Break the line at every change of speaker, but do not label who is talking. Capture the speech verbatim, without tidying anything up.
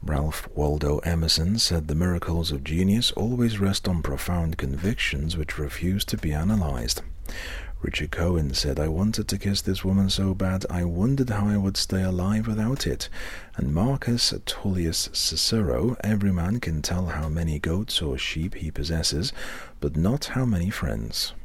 Ralph Waldo Emerson said the miracles of genius always rest on profound convictions which refuse to be analyzed. Richard Cohen said, I wanted to kiss this woman so bad I wondered how I would stay alive without it. And Marcus Tullius Cicero, every man can tell how many goats or sheep he possesses, but not how many friends.